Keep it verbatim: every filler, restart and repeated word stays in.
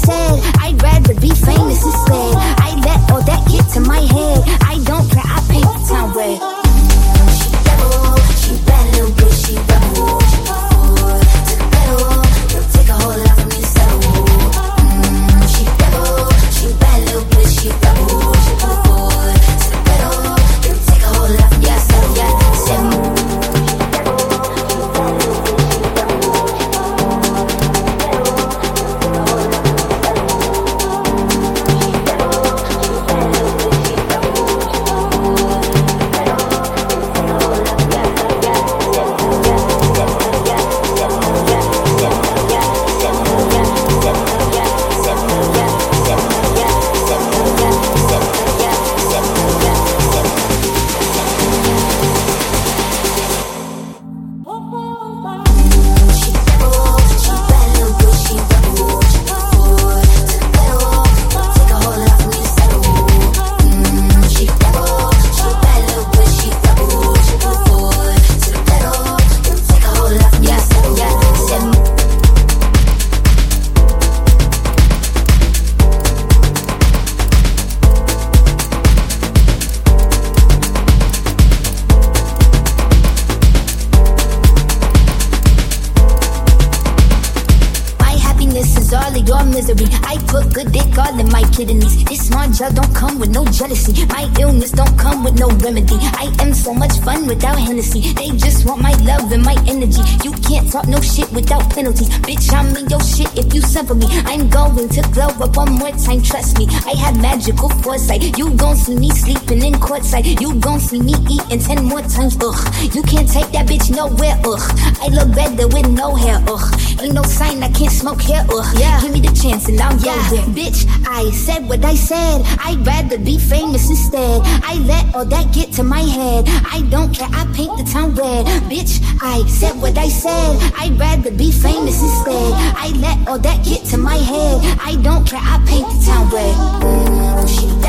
said, I'd rather be famous instead. I let all that get to my head. I don't care, I paint the town red. She rebel, she bad little bitch, she rebel. She put forward to the pedal. Don't take a whole lot from me to settle. Mm, she rebel, she bad little bitch, she rebel. She put forward to the pedal. Don't take a whole lot from me to settle. Yeah, settle. Don't come with no jealousy. My illness don't come with no remedy. I am so much fun without Hennessy. They just want my love and my energy. You can't talk no shit without penalties. Bitch, I'm in your shit if you suffer me. I'm going to glow up one more time, trust me. I have magical foresight. You gon' see me sleeping in courtside. You gon' see me eating ten more times, ugh. You can't take that bitch nowhere, ugh. I look better with no hair, ugh. Ain't no sign I can't smoke hair, ugh. Yeah. Give me the chance and I'll yeah. go there. Bitch, I said what I said. I'd rather be famous instead. I let all that get to my head. I don't care, I paint the town red. Bitch, I said what I said. I'd rather be famous instead. I let all that get to my head. I don't care, I paint the town red. Mm, she